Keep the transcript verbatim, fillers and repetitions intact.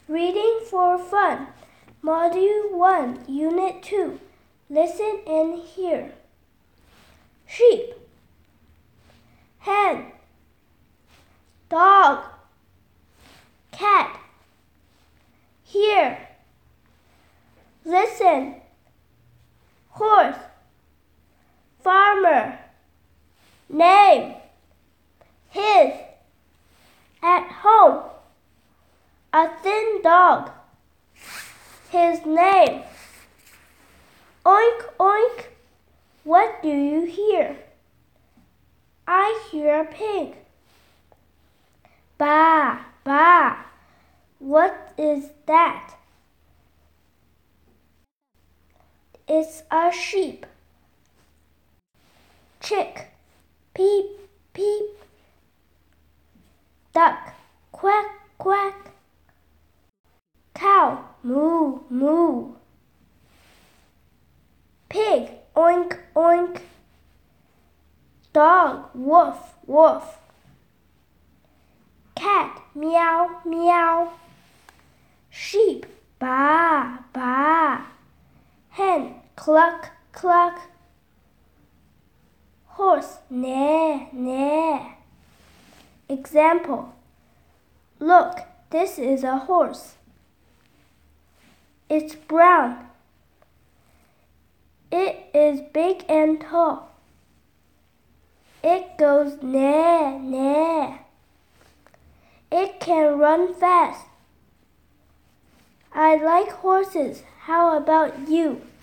Reading for Fun, Module one, Unit two. Listen and hear. Sheep, hen, dog, cat. Hear, listen. Horse, farmer. Name, his. At home, a thin dog. His name. Oink, oink. What do you hear? I hear a pig. Baa, baa. What is that? It's a sheep. Chick, peep, peep. Duck, quack, quack. Cow, moo, moo. Pig, oink, oink. Dog, woof, woof. Cat, meow, meow. Sheep, baa, baa. Hen, cluck, cluck. Horse, neigh, neigh. Example. Look, this is a horse. It's brown. It is big and tall. It goes neigh, neigh. It can run fast. I like horses. How about you?